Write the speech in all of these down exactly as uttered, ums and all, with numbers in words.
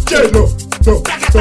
J-Lo, no,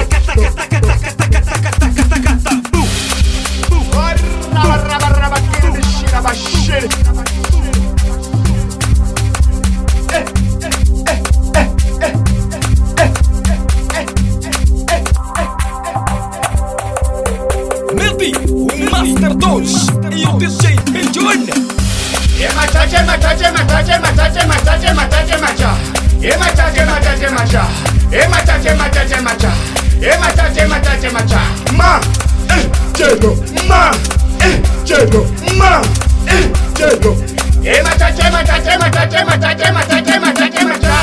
Melty, o Master dois e o D J Benjon. Emacha, emacha, emacha, emacha, emacha, emacha, emacha. Emacha, emacha, emacha. Emacha, emacha, emacha. Emacha, emacha, emacha. Ma, eh, J-Lo, ma, eh, J-Lo, ma, eh, J-Lo. Emacha, emacha, emacha, emacha, emacha, emacha, emacha.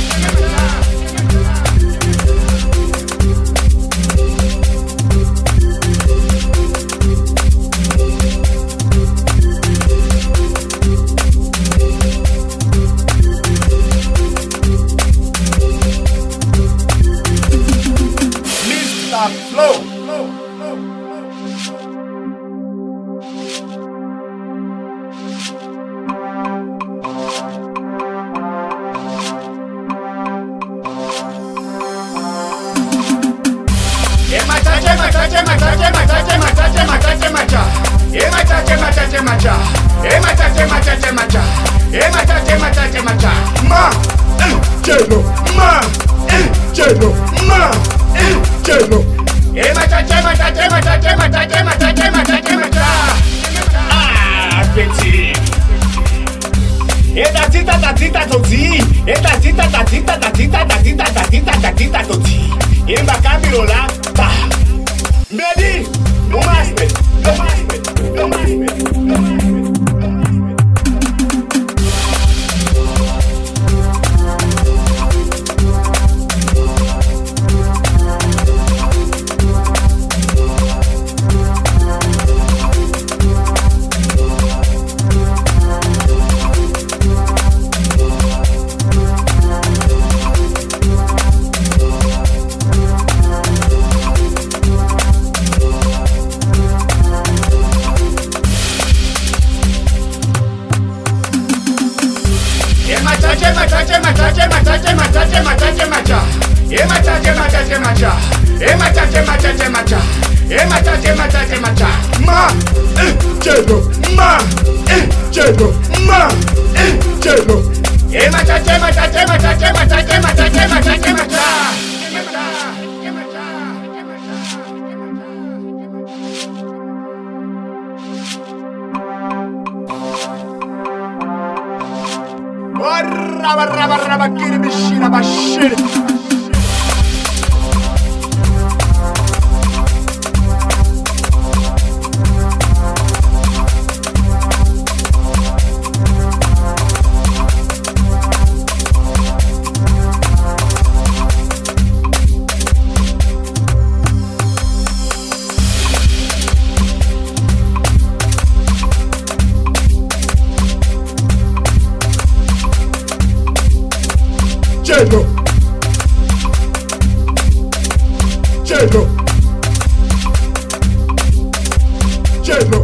Flow. Emacha, emacha, emacha, emacha, emacha, emacha, emacha. Emacha, emacha, emacha. Emacha, emacha, emacha. Emacha, emacha, emacha. Ma, eh, J-Lo, ma, eh, J-Lo, ma, eh, J-Lo. Emacha, emacha, emacha, emacha, emacha, emacha, emacha. Ah, petit. Eta tita tatita toti. Eta tita tatita tatita tatita tatita tatita toti. Emba camilo lá, tá. Medi, o master, o master, o master, o master. Ma, eh, J-Lo, ma, eh, J-Lo, ma, eh, J-Lo. Emacha, emacha, emacha, emacha, emacha, emacha, emacha. Barra, barra, barra, bakiri, bishira, bashiri. J-Lo, J-Lo, J-Lo.